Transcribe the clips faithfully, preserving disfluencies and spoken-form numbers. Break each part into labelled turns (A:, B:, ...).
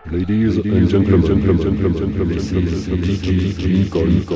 A: Ladies and gentlemen, gentlemen, gentlemen, gentlemen, this is D J Lincoln.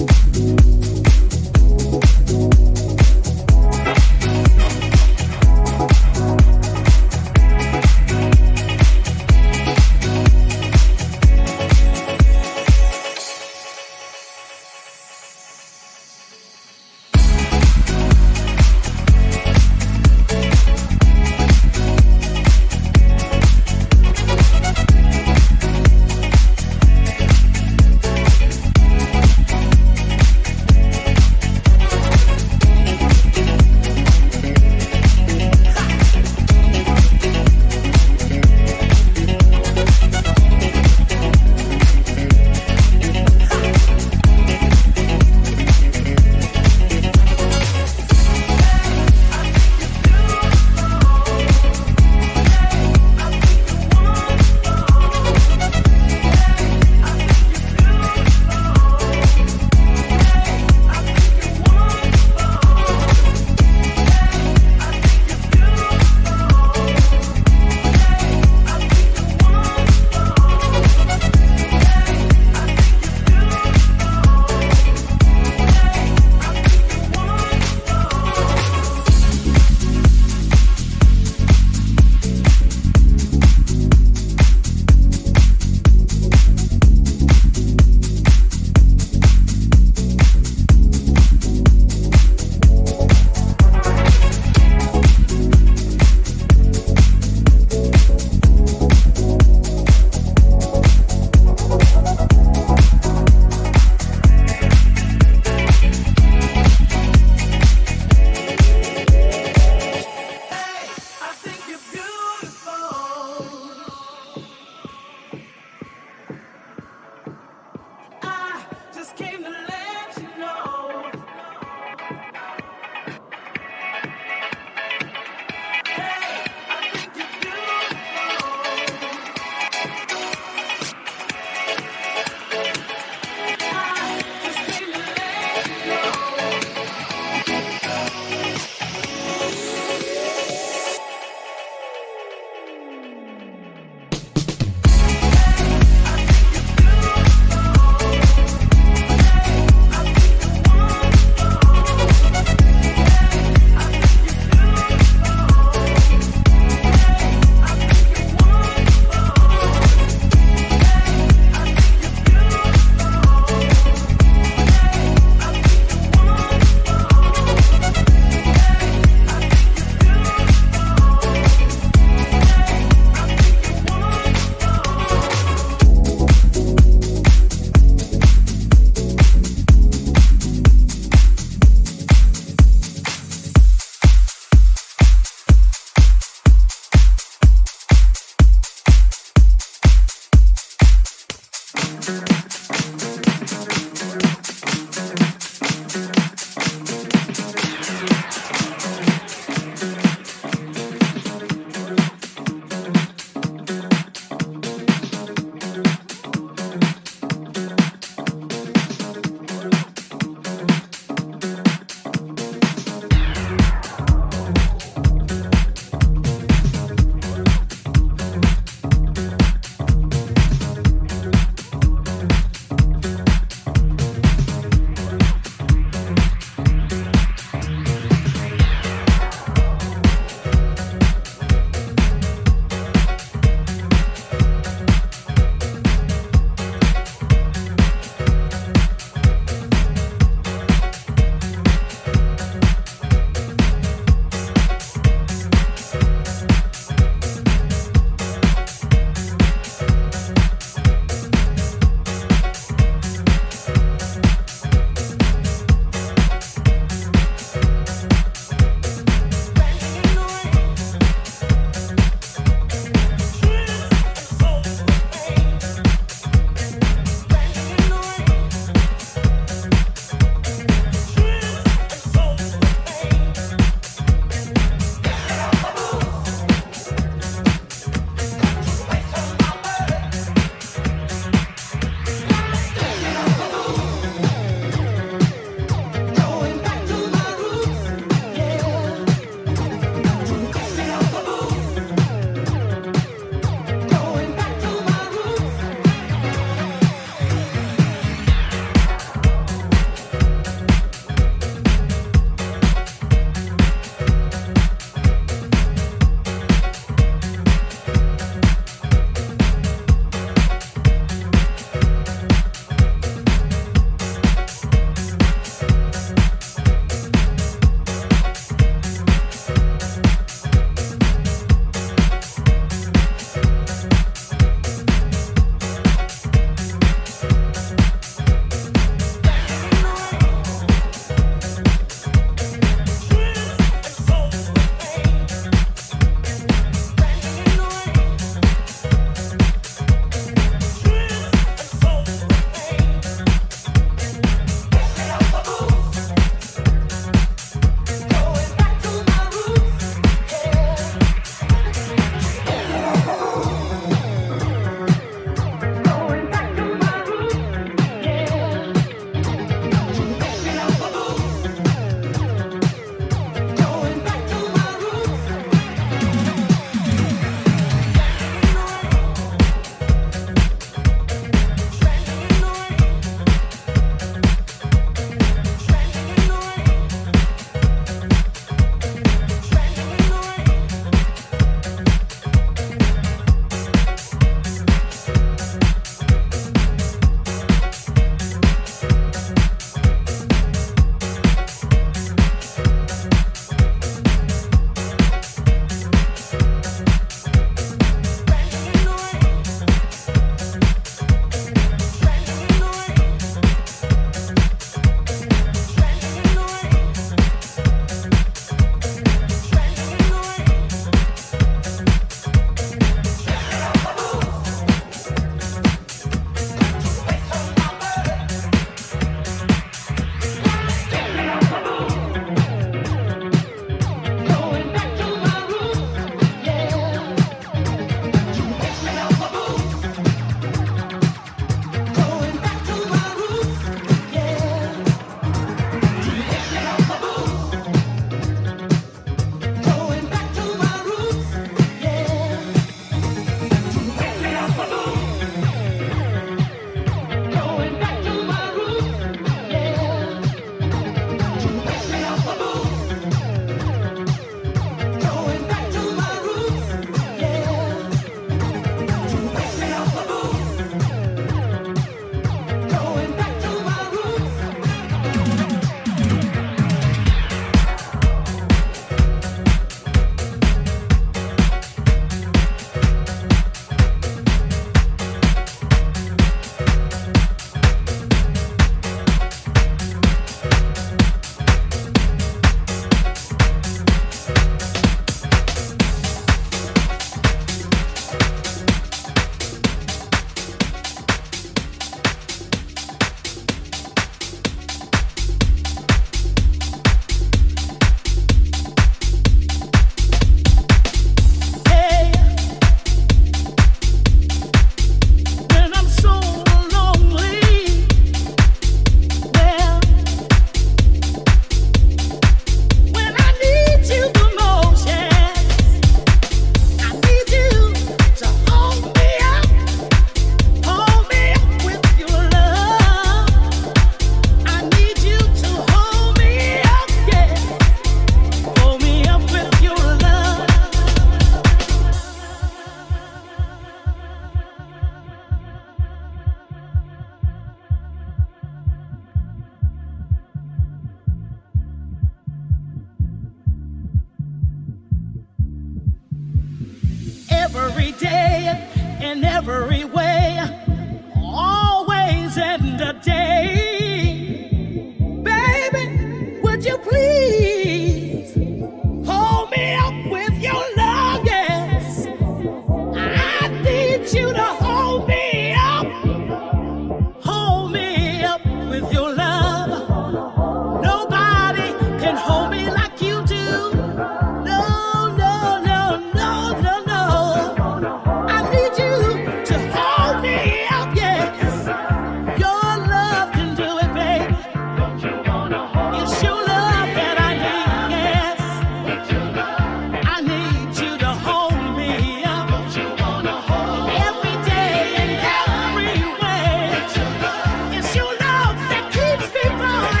B: every day, in every way, always and a day. Baby, would you please hold me up with your love? Yes, I need you to hold me up, hold me up with your love. Nobody can hold me like you do. No, no, no, no, no, no. I need you to hold me up, yes. Your love can do it, baby. It's your love that I need, yes. I need you to hold me up every day and every way. It's your love that keeps me going.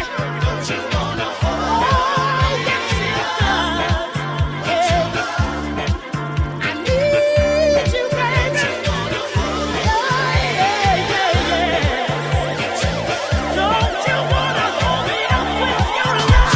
B: Oh, yes, it does. Yeah. I need you, baby. Yeah, yeah, yeah, yeah. Don't you wanna hold me up with your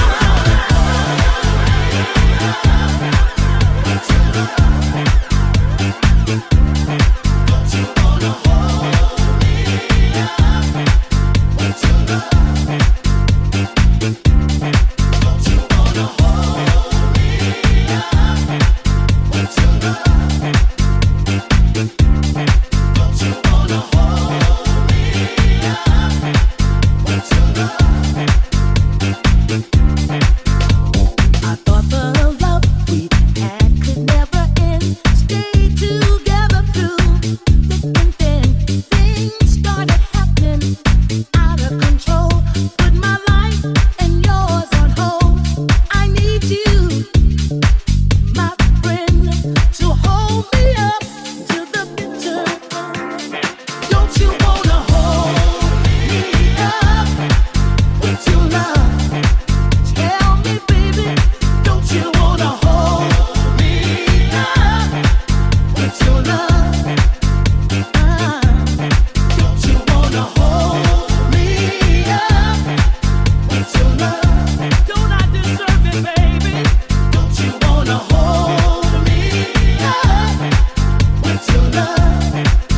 B: I thought the love we had could never end. Stay together through thick and thin. Things started happening out of control. Put my life and yours on hold. I need you, my friend, to hold me up to the bitter end. Don't you wanna hold me up with your love? Tell me, baby, don't you wanna hold me up with your love? Uh, don't you wanna hold me up with your love? Don't I deserve it, baby? Don't you wanna hold me up with your love?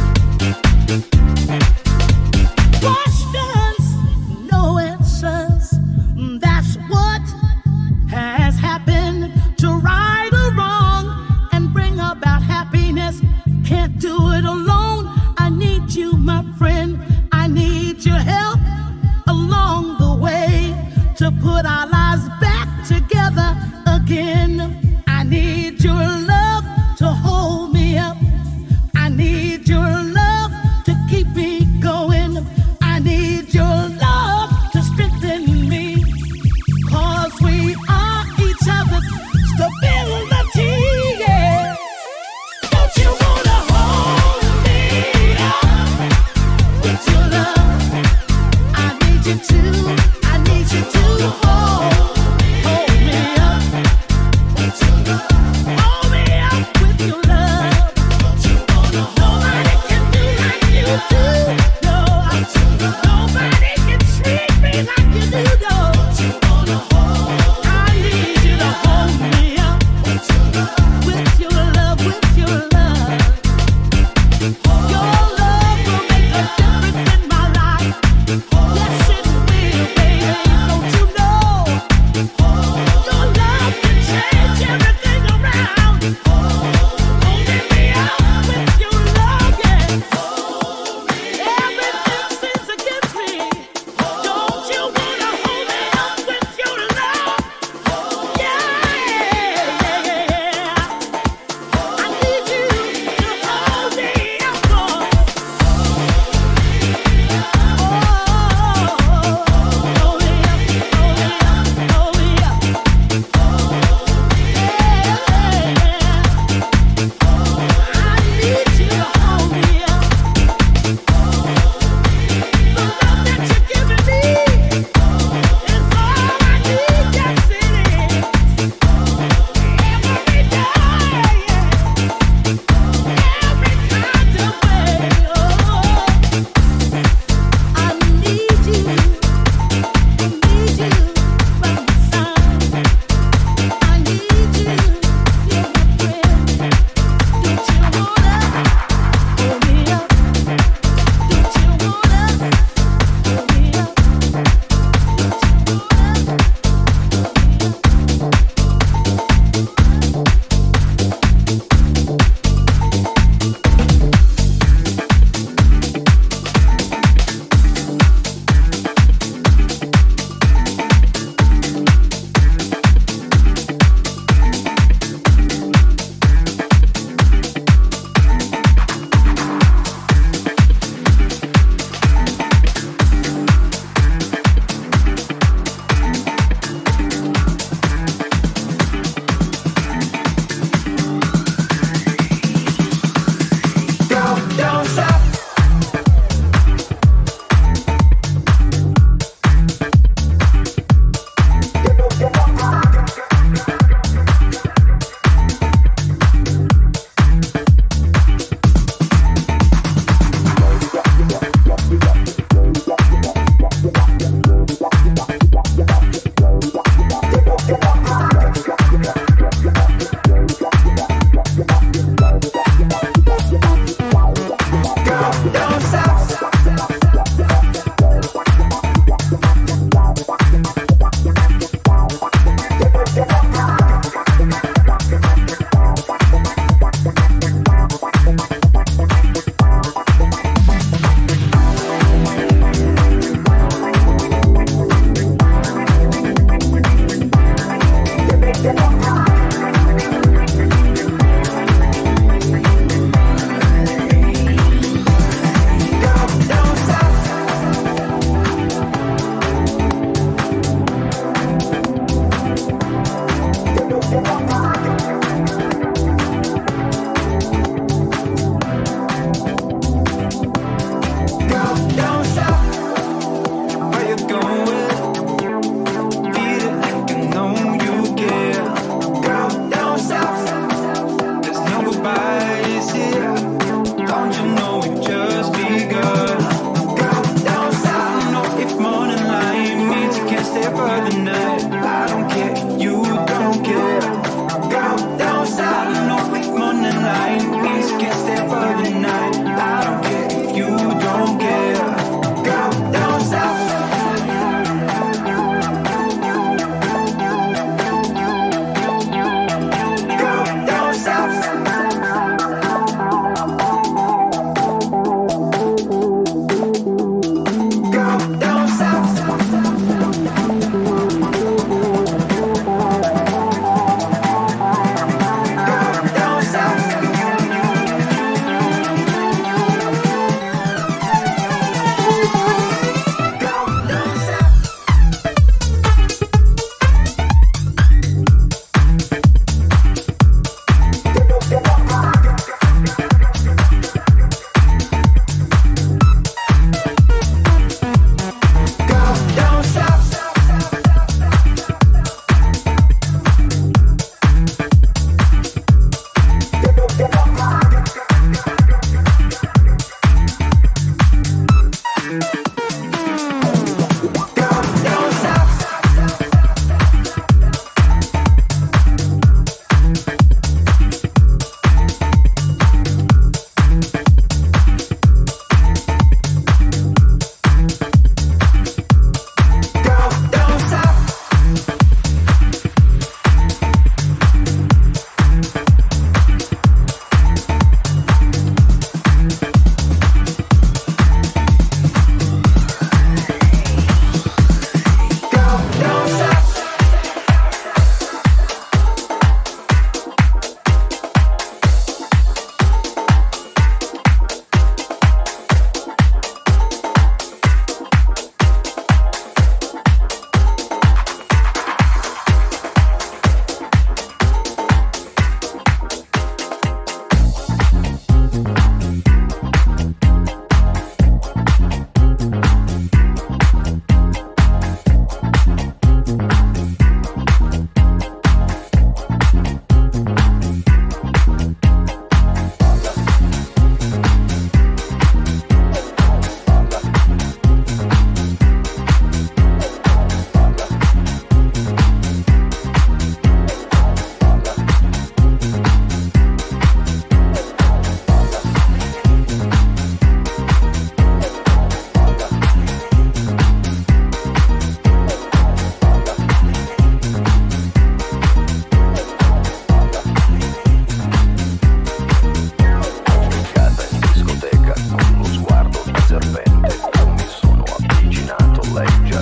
B: Questions, no answers. That's what has happened. To right or wrong and bring about happiness. Can't do it alone. I need you, my friend. I need your help along the way to put our lives back together again. I need your love to hold me up. I need your love to keep me going. I need your love to strengthen me. Cause we are each other's stability, yeah. Don't you wanna hold me up with your love? I need you to, I need you to hold, hold me up with your love. Hold me up with your love. Nobody can do like you do. No, nobody can treat me like you do, no. I need you to hold me up with your love, with your love. Your love will make a difference in my life. Yes, it will, baby.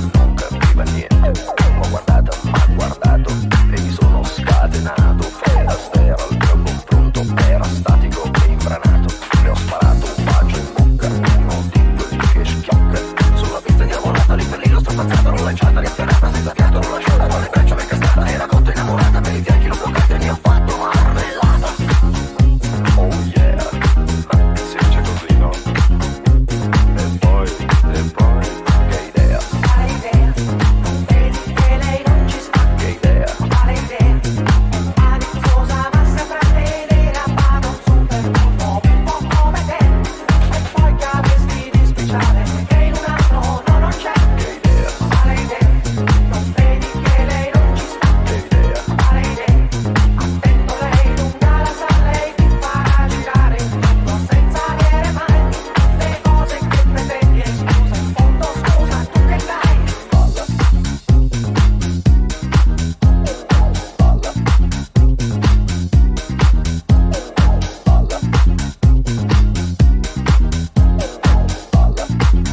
C: non capiva niente. L'ho guardata, m'ha guardato e mi sono scatenato. Fede Astaire al mio confronto era statico e imbranato. Le ho sparato un bacio in bocca, uno di quelli che schiocca. Sulla pista innamorata, lì per lì l'ho strapazzata, l'ho lanciata, riafferrata, senza fiato, l'ho lasciata con le braccia ben castrata. Era cotta innamorata, per i fianchi l'ho bloccata e mi ha fatto marmellata. Oh yeah, ma si dice così, no? E poi, e poi, che idea?
D: Quale idea? Non vedi che lei non ci sta?
C: Che idea?
D: Quale idea? Aliziosa ma sempre tenera, ma non super uomo, un po' come te. E poi che avresti di speciale che in un altro no, non c'è.
C: Che idea?
D: Quale idea? Non vedi che lei non ci sta?
C: Che idea?
D: Quale idea? Attento, lei lunga la sa, lei ti farà girare il mondo senza avere mai le cose che pretendi. E scusa, in fondo scusa, tu che dai?
C: Balla. Balla. Balla. Balla.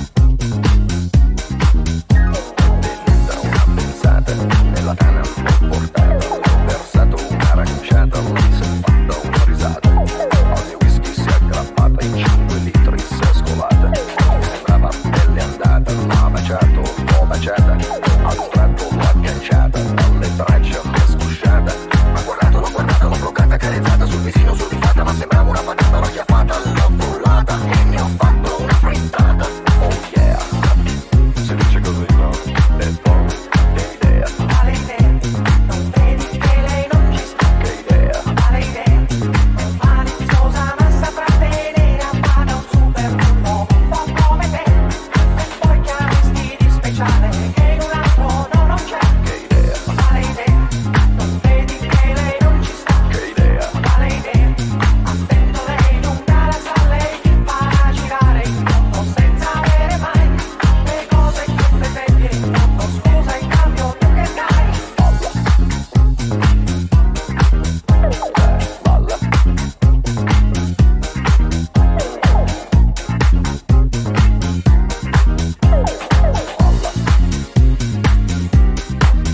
C: Tenuta una pensata, nella tana l'ho portata. Ho versato un'aranciata, lì si è fatta una risata. Al mio whisky si è aggrappata, in cinque litri si è scolata. Sembrava pelle andata, l'ha baciato, l'ho baciata. A un tratto l'ho agganciata, dalle braccia mi è sgusciata. Ma guardato, l'ho guardata, l'ho bloccata, carezzata sul visino sudifata. Ma sembrava una patata, l'ho chiappata, l'ho frullata e ne ho fatto una frittata. Oh yeah, si dice così, no? E poi, che idea?
D: Quale idea? Non vedi che lei non ci sta?
C: Che idea?
D: Quale idea? Maliziosa ma saprà tenere a bada un super uomo, un po' come te. E poi che avresti di speciale che in un altro no, non c'è.
C: Che idea?
D: Quale idea? Non vedi che lei non ci sta?
C: Che idea?
D: Quale idea? Attento, lei lunga la sa, lei ti farà girare il mondo senza avere mai le cose che pretendi. E in fondo scusa, in cambio tu che dai?
C: Balla. Balla. Balla.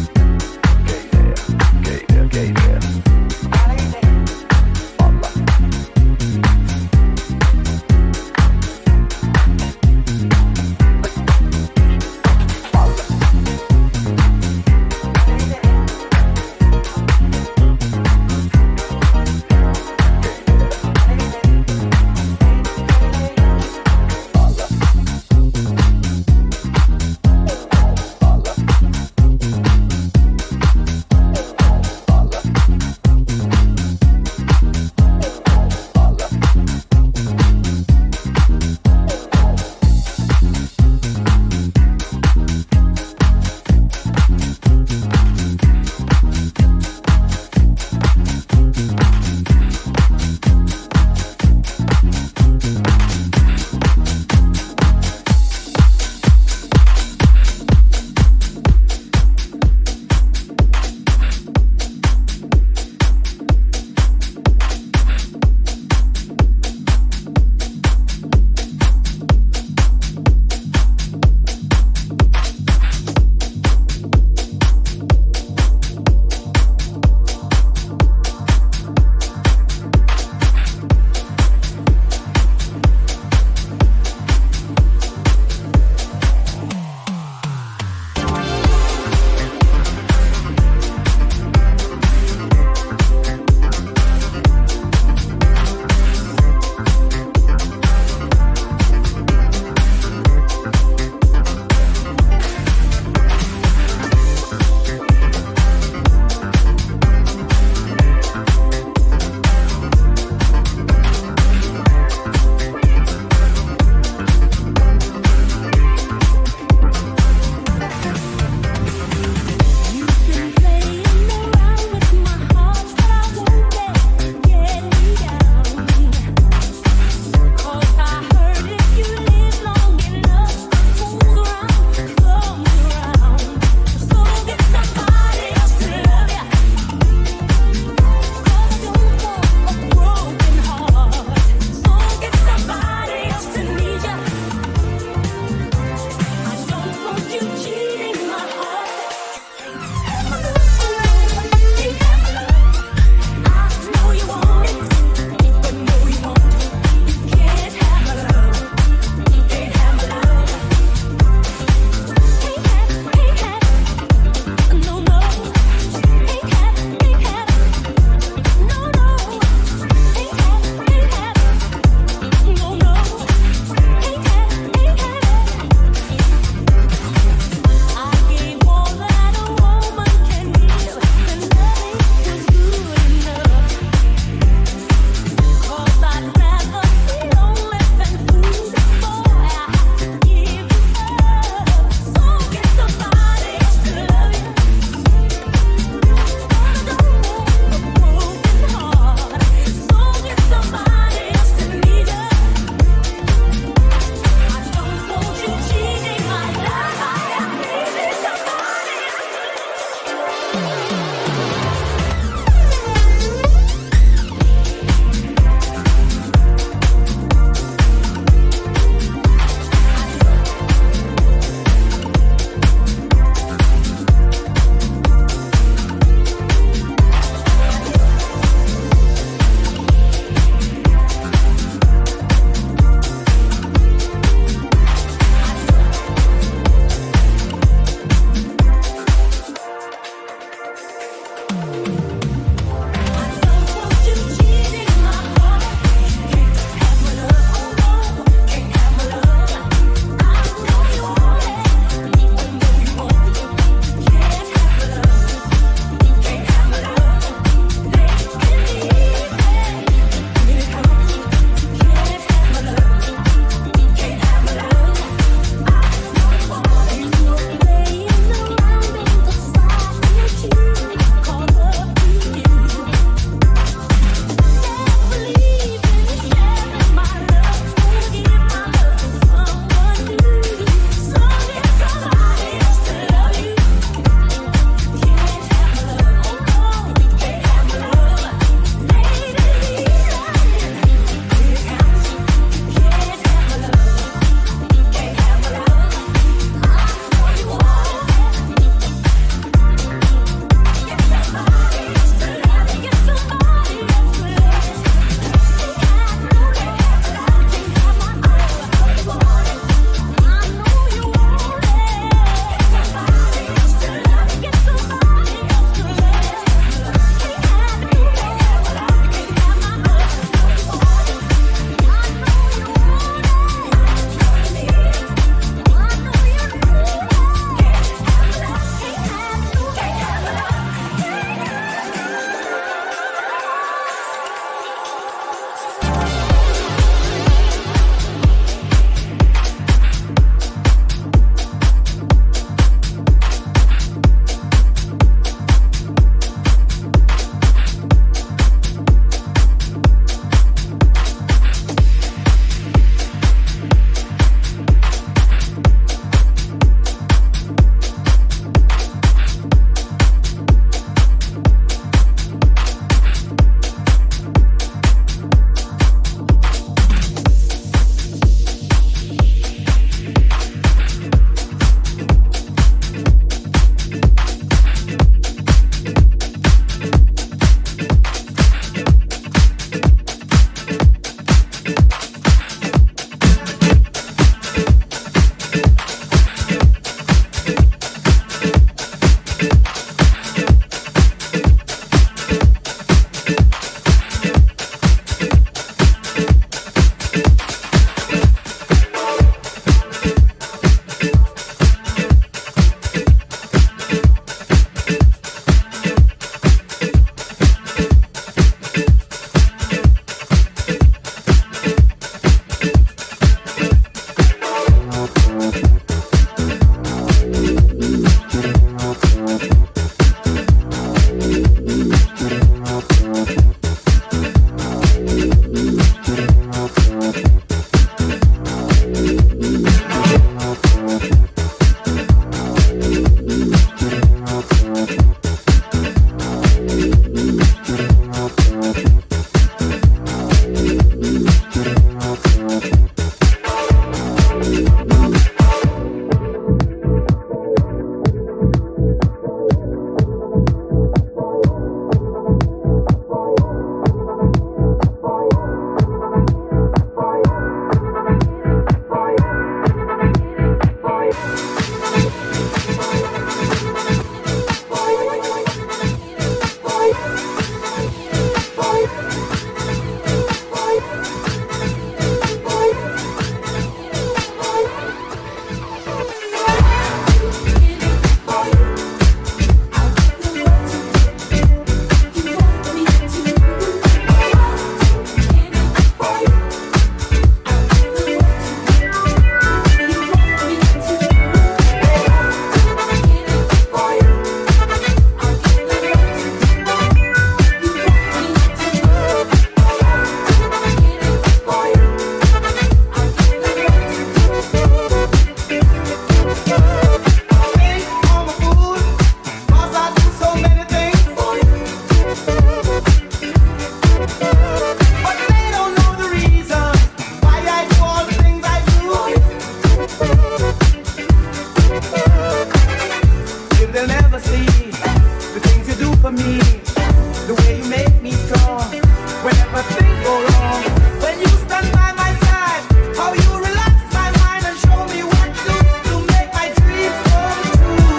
E: they'll never see the things you do for me, the way you make me strong whenever things go wrong. When you stand by my side, how you relax my mind and show me what to do to make my dreams come true.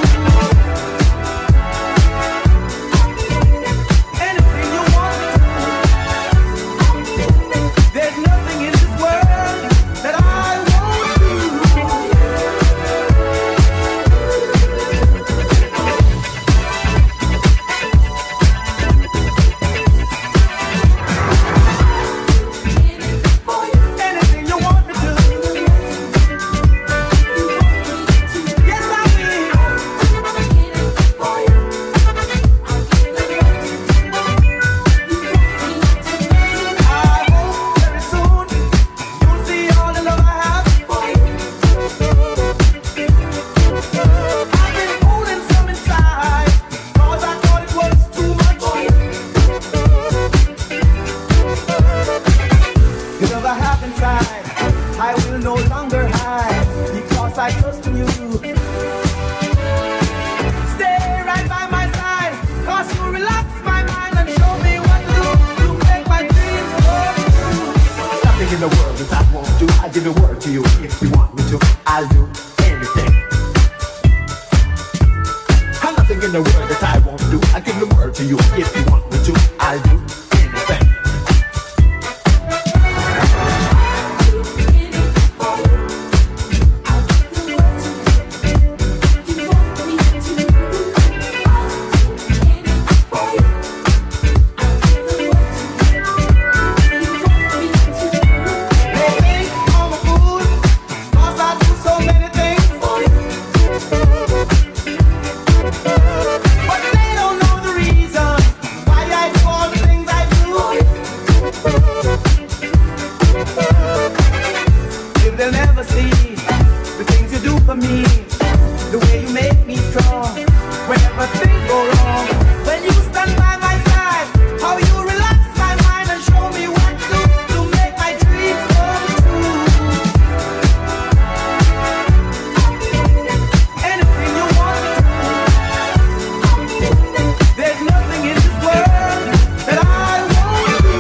E: Anything you want me to, there's nothing in this world that I won't do. Anything you want me to, yes I will. I hope very soon you'll see all the love I have. I've been holding some inside, 'cause I thought it was too much. The love I have inside, I will no longer hide, because I trust in you. Stay right by my side, 'cause you relax my mind and show me what to do to make my dreams come true.
F: Nothing in the world that I won't do. I'll give a word to you if you want me to. I'll do anything. And nothing in the world that I won't do. I'll give a word to you if you want me to. I'll do anything.
E: They think I'm a fool, 'cause I do so many things. But they don't know the reason why I do all the things I do. If they'll never see the things you do for me, the way you make me strong whenever things go wrong. When you stand by my side, how you relax my mind and show me what to do to make my dreams come true. Anything you want me to, there's nothing in this world that I won't do.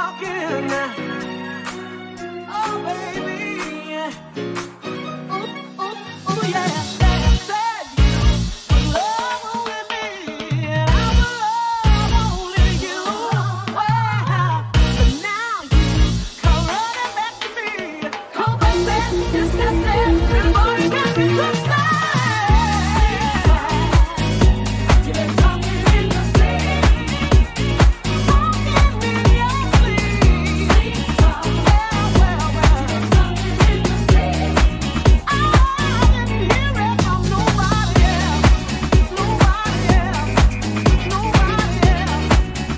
E: talking. Oh, baby. Ooh, ooh, ooh, yeah. Said, said you would love with me, and I will love only you. Well, but now you come running back to me. Come back, disgusted, before you get me to stay. You're talking in your sleep, talking in your sleep. Well, well, well, talking in your sleep. I didn't hear it from nobody else, nobody else, nobody else.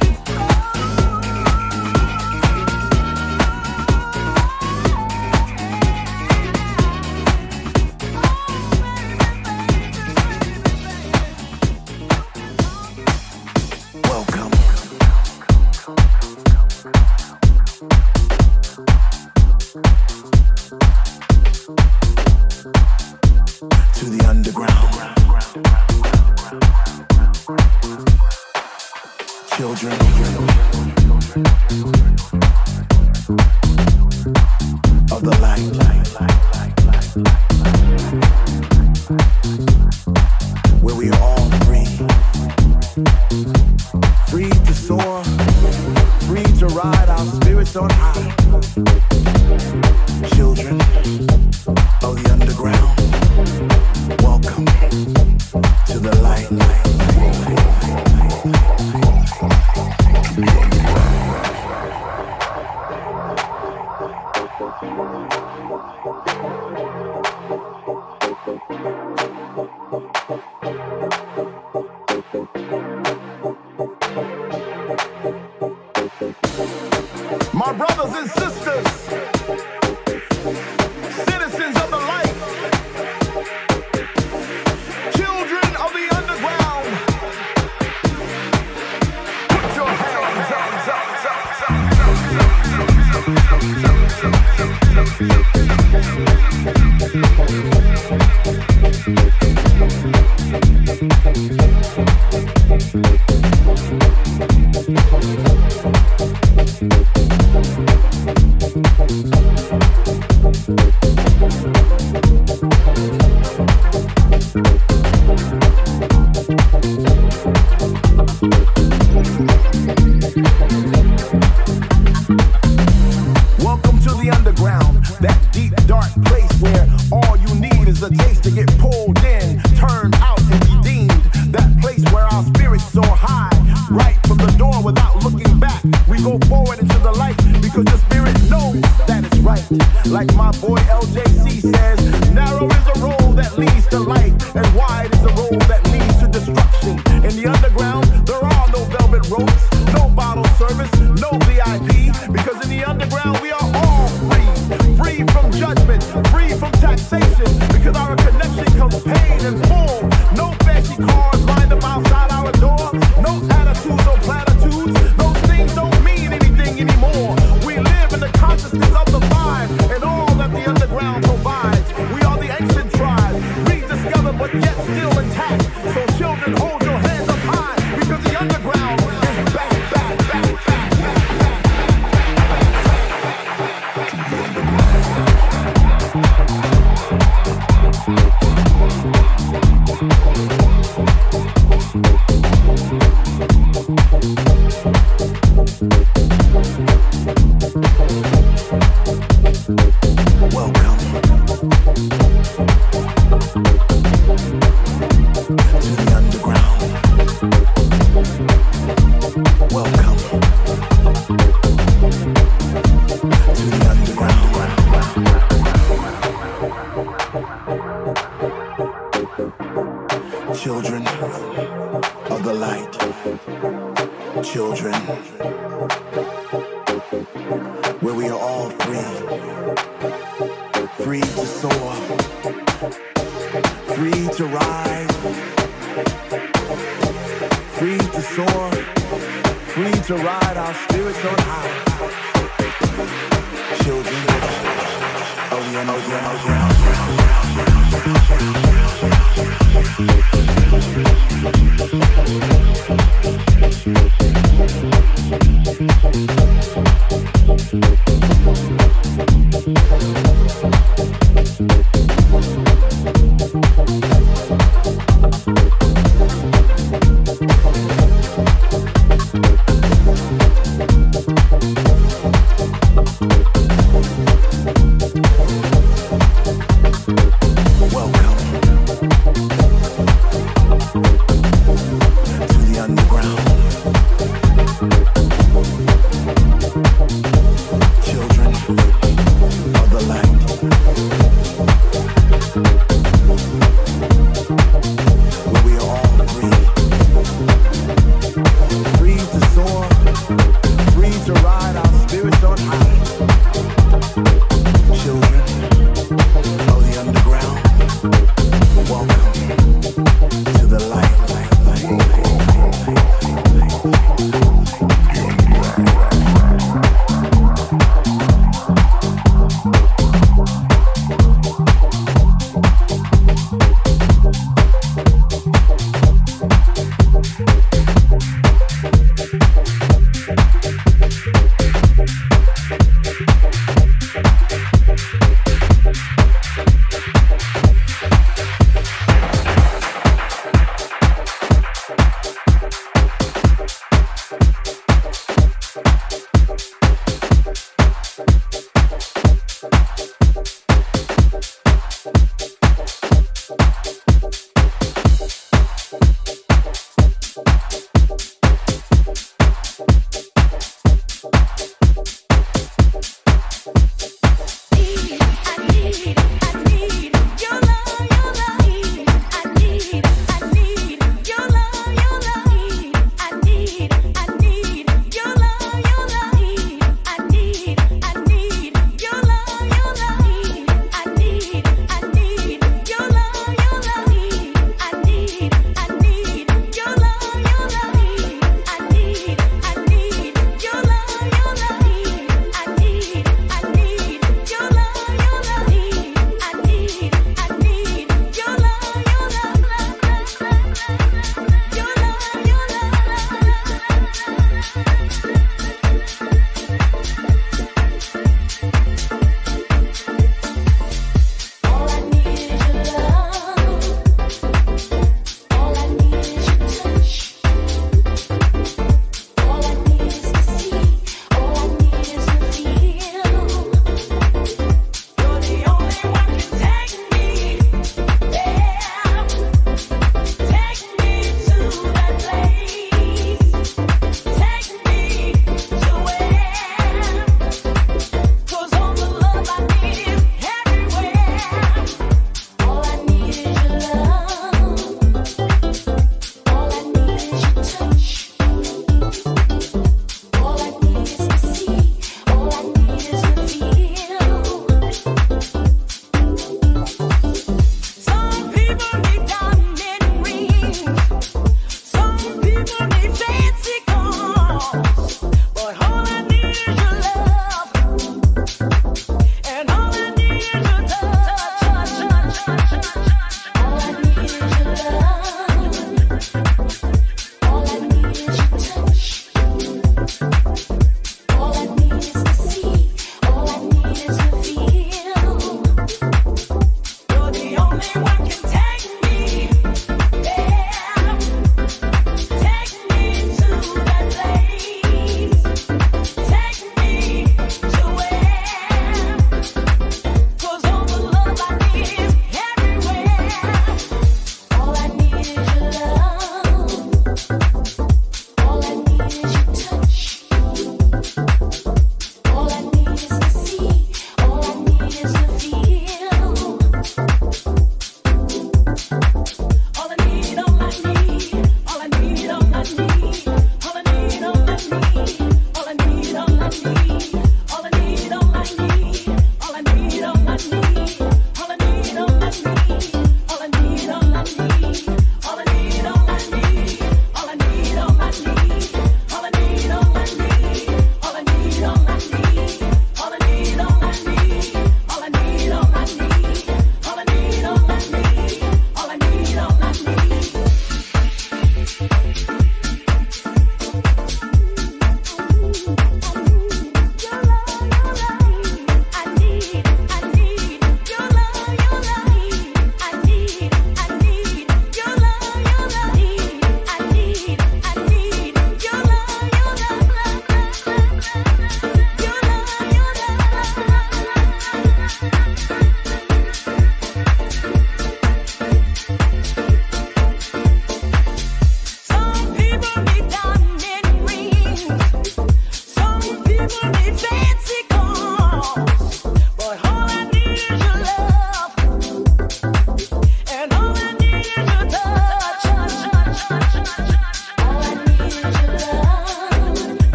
G: Welcome to the underground. Children of the light. Where we are all free. Free to soar, free to ride our spirits on high. Children of the underground, welcome to the light. My brothers and sisters, citizens of the light, children of the underground, put your hands up, Welcome to the underground, that deep, dark place where all you need is a taste to get pulled in, turned out, and redeemed. That place where our spirits soar high, right from the door without looking back. We go forward into the light because the spirit knows that it's right. Like my boy L J C says, narrow is the road that leads to life, and wide is the road that leads to destruction. In the underground, there are no velvet ropes, no bottle service, no V I P, because in the underground we are all free, free from judgment, free from taxation, because our connection comes paid in full. No fancy cars lined up outside our door, no attitudes or platitudes. Those things don't mean anything anymore. We live in the consciousness of the vibe and all that the underground provides. We are the ancient tribe, rediscovered but yet still intact. So children, hold your hands up high, because the underground is back, back, back, back, back, back. Free to soar, free to ride our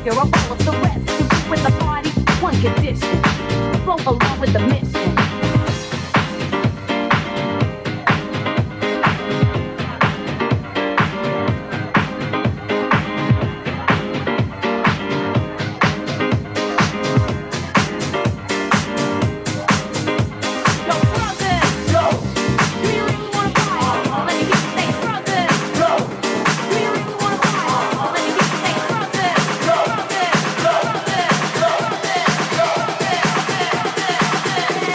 H: figure I'll follow the rest. To be with the party, one condition. Flow along with the mission.
I: Yeah.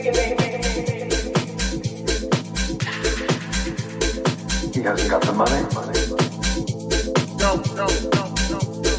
C: He hasn't got the money.
E: No, no, no, no,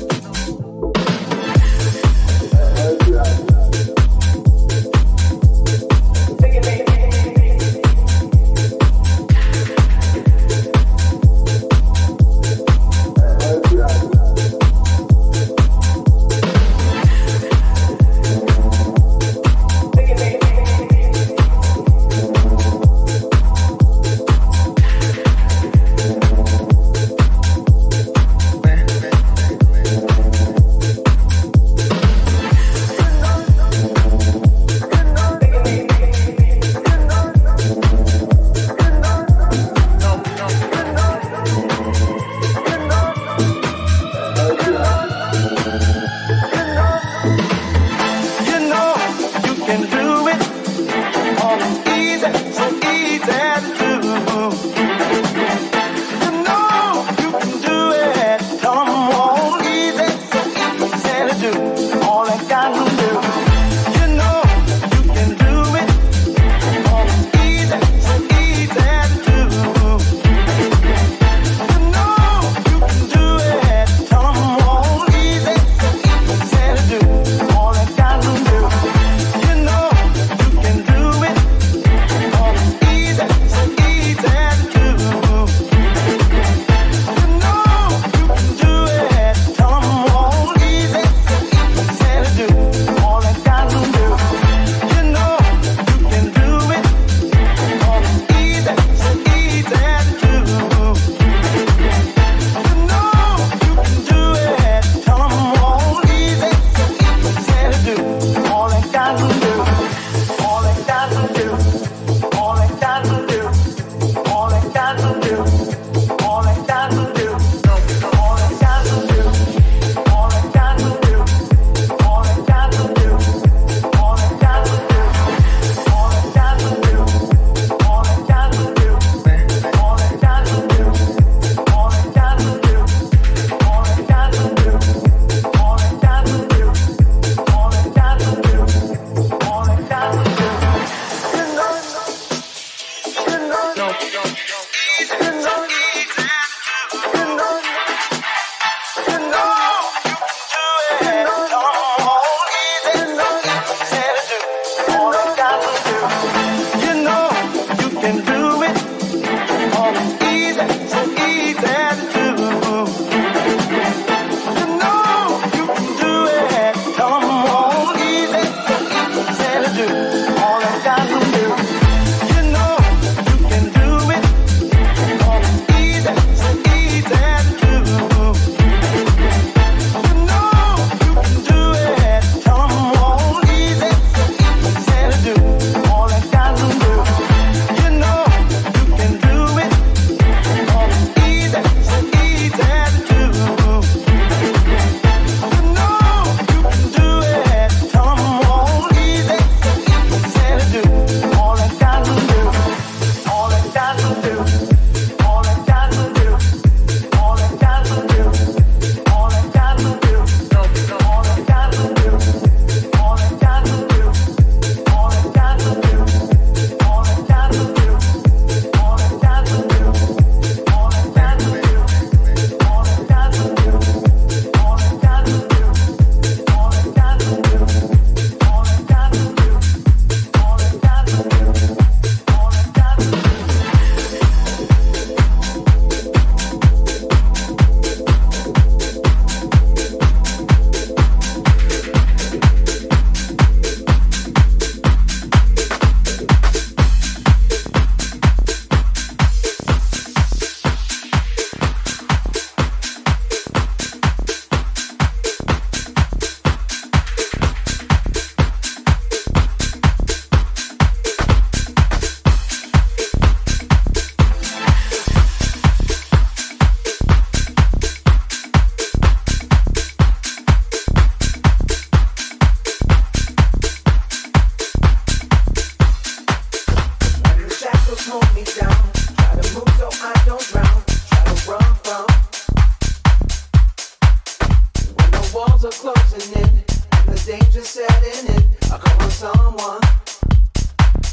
E: are closing in, and the danger setting in. I call on someone.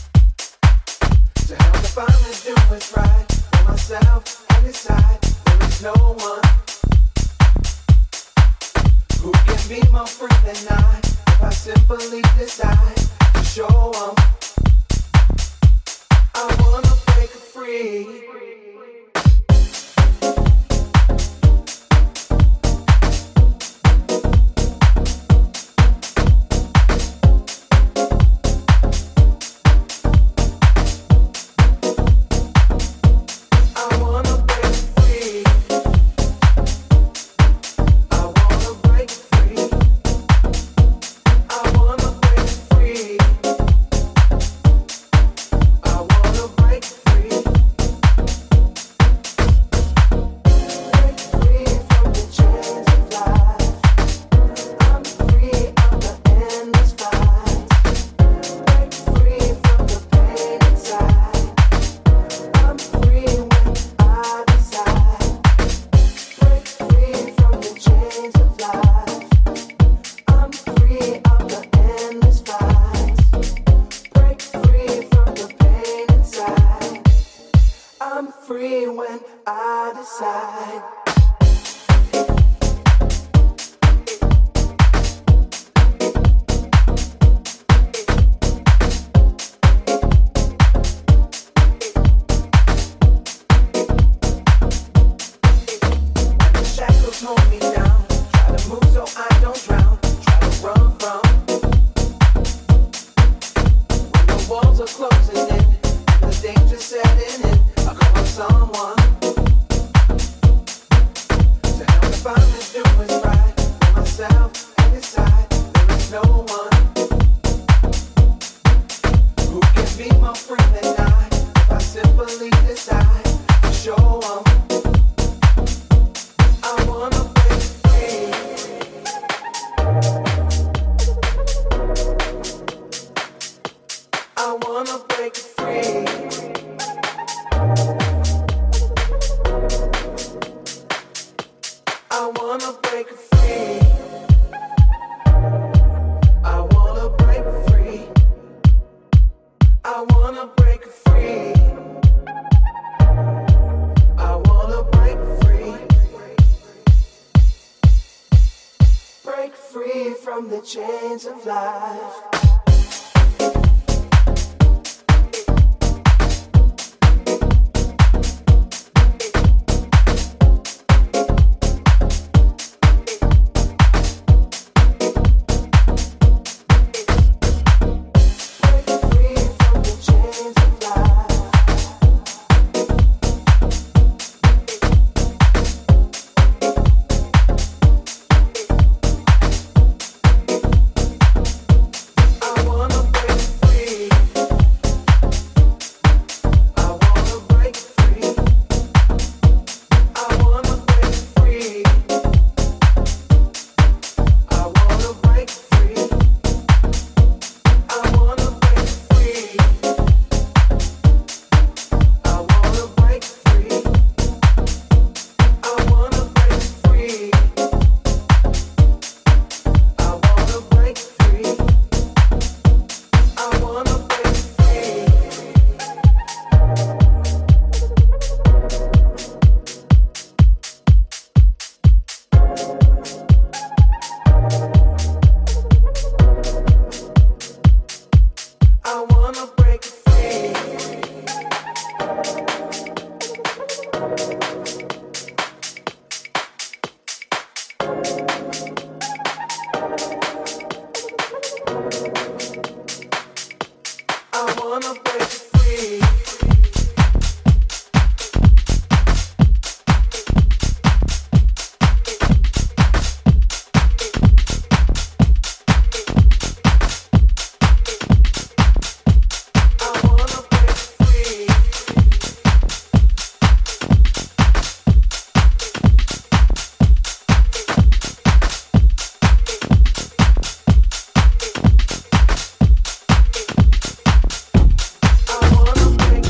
E: at night if I simply decide to show up. I wanna break free. Chains of life. I wanna break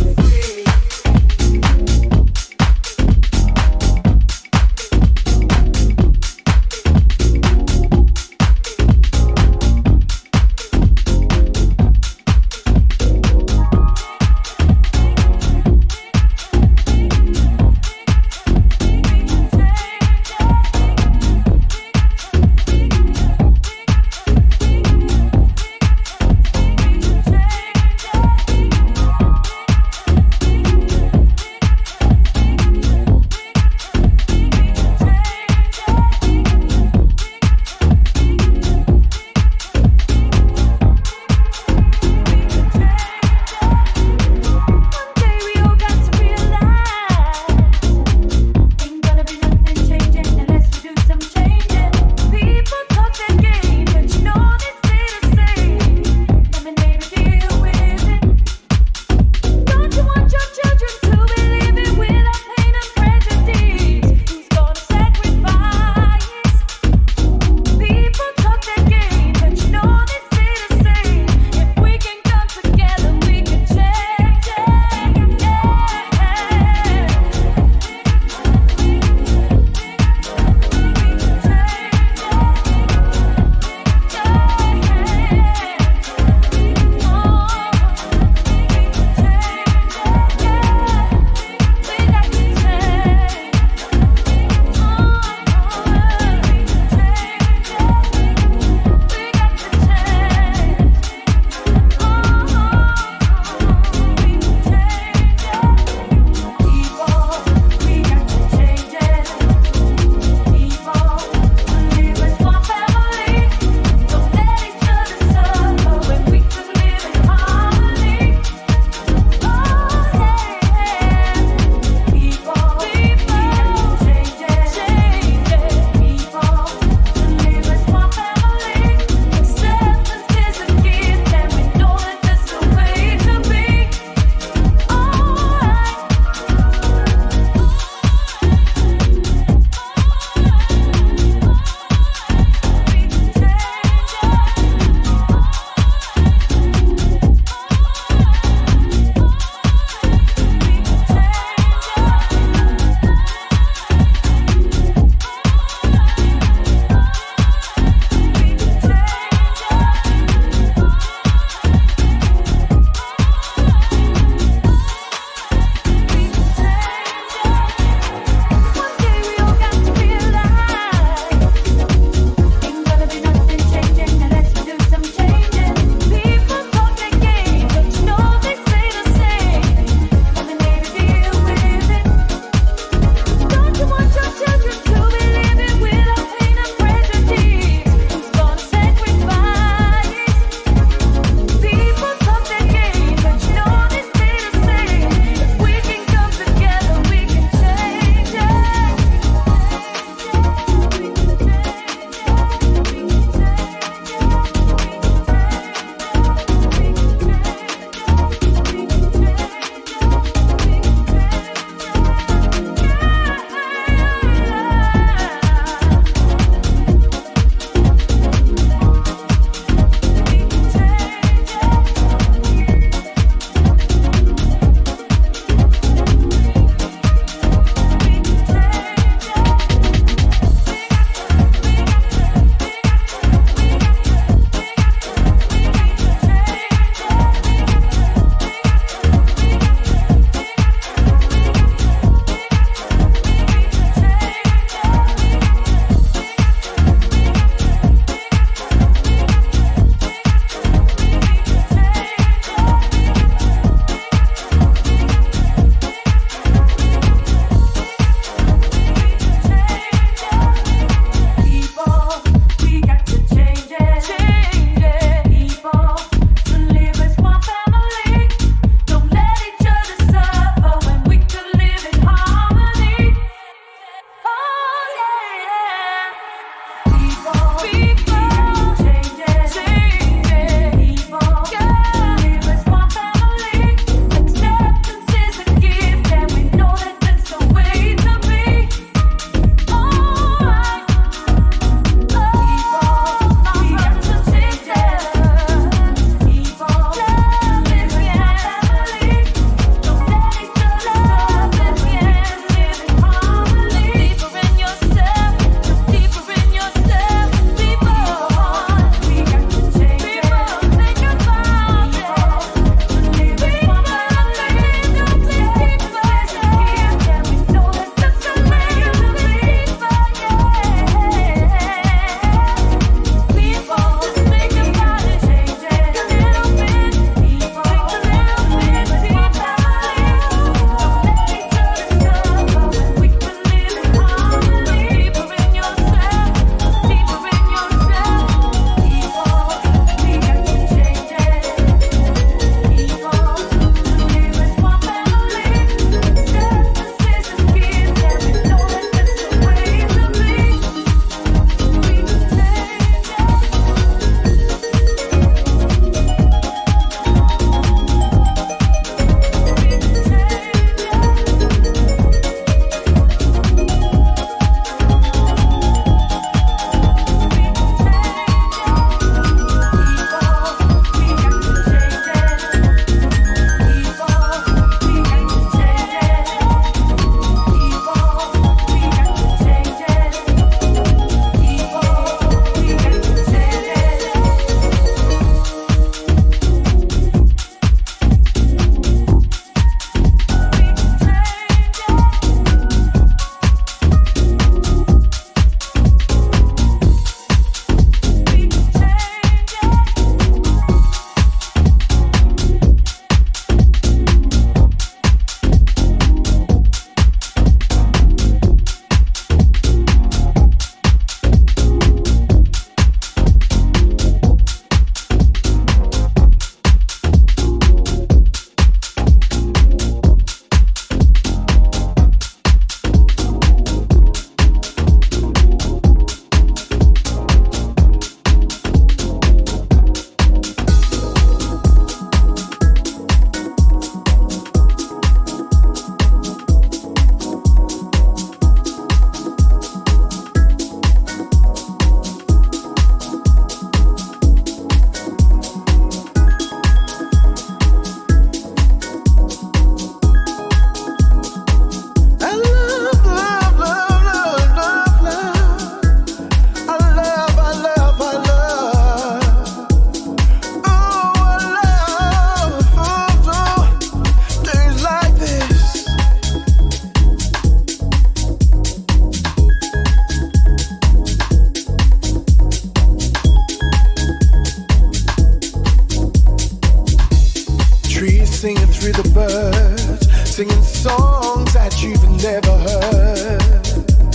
G: trees singing through the birds, singing songs that you've never heard.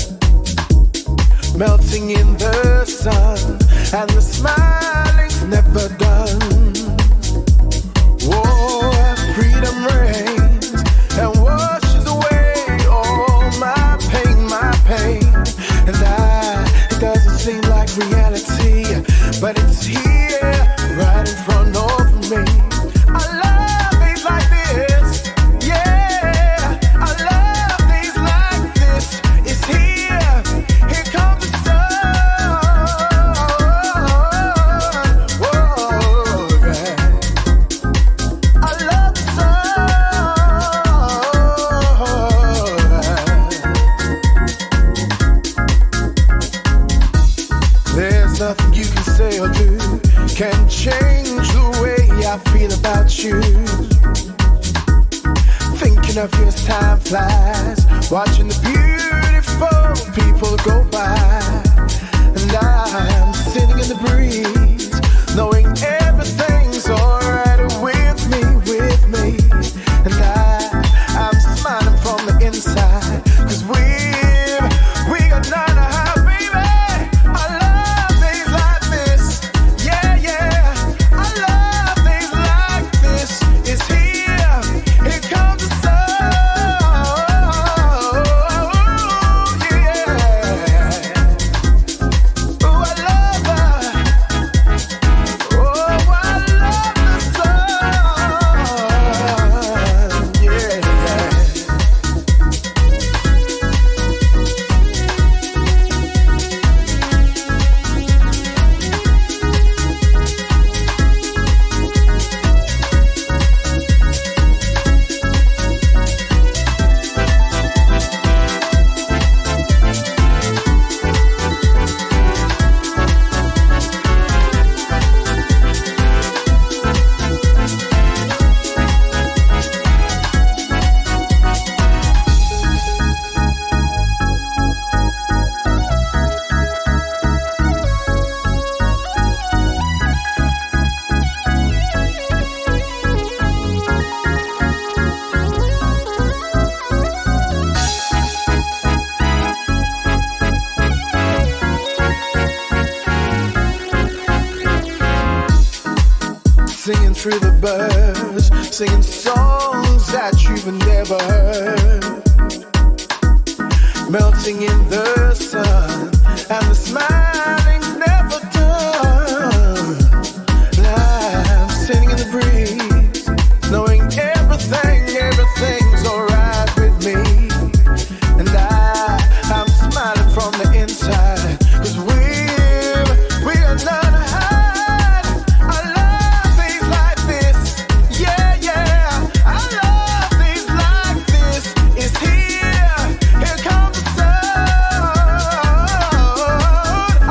G: Melting in the sun, and the smiling's never done. Oh, freedom reigns and washes away all my pain, my pain. And I, it doesn't seem like reality, but it's here, right in front of me. I love things like this, yeah. I love things like this. It's here, here comes the sun. Whoa, yeah. I love the sun. There's nothing you can say or do can change the way I feel about you. Thinking of you as time flies, watching the beautiful people go by. And I'm sitting in the breeze, knowing everything's alright with me, with me. And I, I'm smiling from the inside, cause we've, we got none of how, baby. I love things like this, yeah, yeah. I love things like this. It's here, here comes the sun, yeah. Ooh, I love her. Oh, I love the sun, yeah. Singing through the birds, singing songs that you've never heard. Melting in the sun, and the smiling's never done. And I'm sitting in the breeze, knowing everything, everything's alright with me. And I, I'm smiling from the inside, cause we've, we are none to hide. I love things like this, yeah, yeah. I love things like this. It's here, here comes the sun.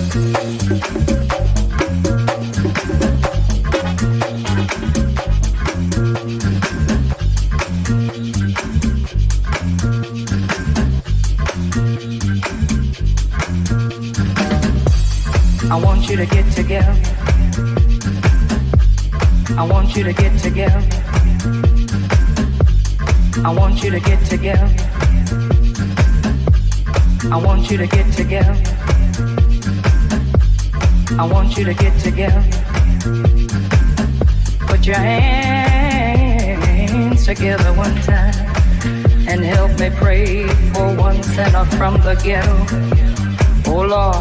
I: I want you to get together. I want you to get together. I want you to get together. I want you to get together. I want you to get together. Put your hands together one time and help me pray for one sinner from the ghetto. Oh Lord.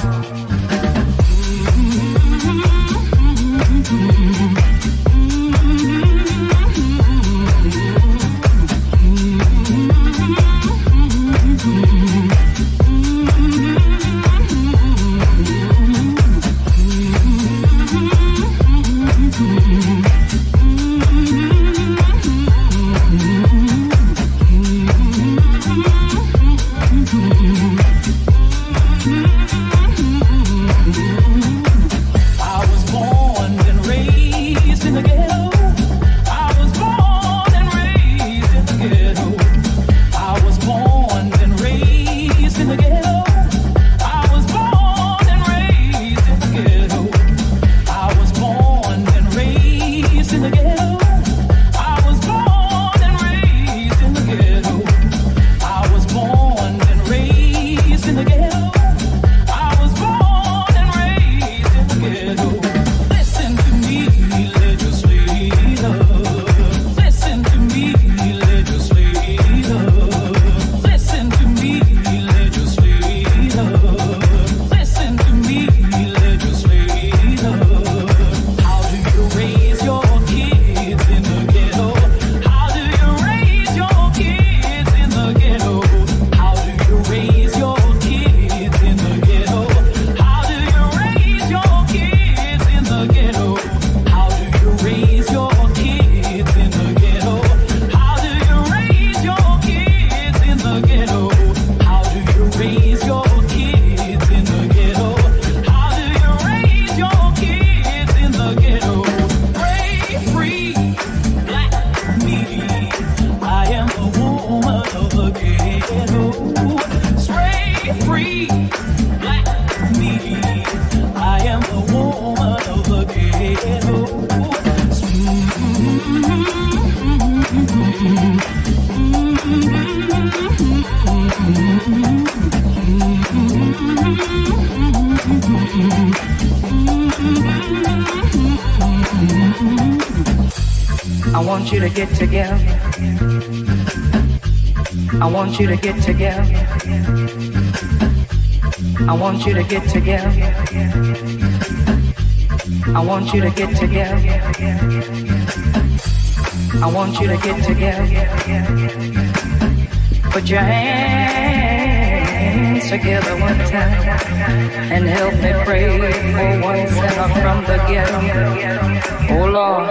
I: I want you to get together. I want you to get together. I want you to get together. I want you to get together. I want you to get together. Put your hands together one time and help me pray for one sinner from the ghetto. Oh Lord.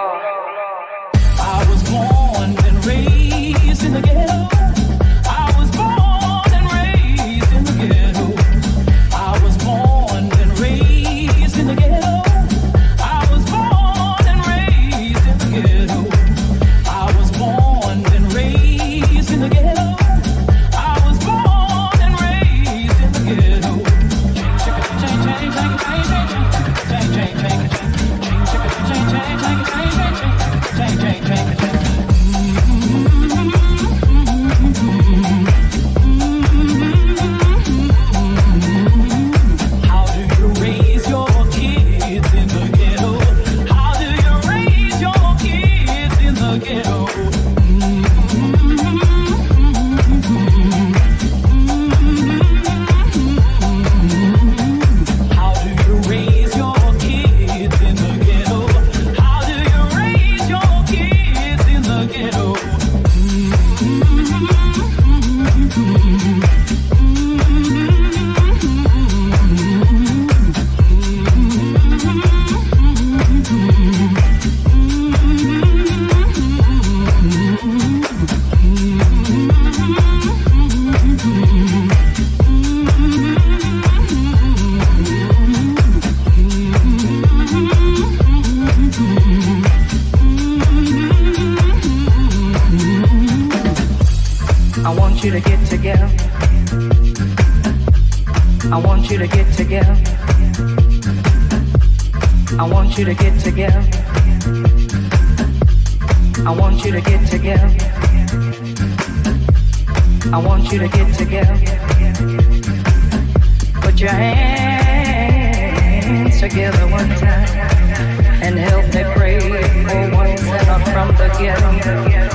J: I was born and raised in the ghetto. I was born and raised in the ghetto. I was born and raised in the ghetto. I was born and raised in the ghetto. I was born and raised in the ghetto. I was born and raised in the ghetto. Change, change, change, change, change, change, change, change, change, change, change, change, change, change, change.
I: together. I want you to get together. I want you to get together. I want you to get together. I want you to get together. Put your hands together one time and help me pray for one sinner from the ghetto.